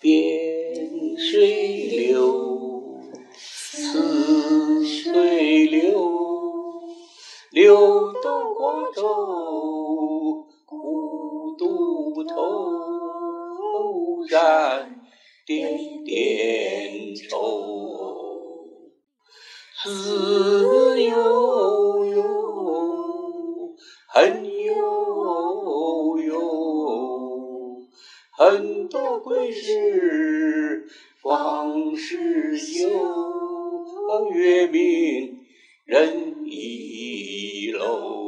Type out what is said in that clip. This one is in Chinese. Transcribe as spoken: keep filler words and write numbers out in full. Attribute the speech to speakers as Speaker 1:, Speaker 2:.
Speaker 1: 点水流，似水流，流动瓜洲，苦渡头，染点点愁。思悠悠，恨悠悠，很多归时，往事旧，月明人已老。